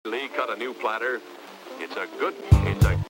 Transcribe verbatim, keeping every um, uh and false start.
Lee cut a new platter. It's a good, it's a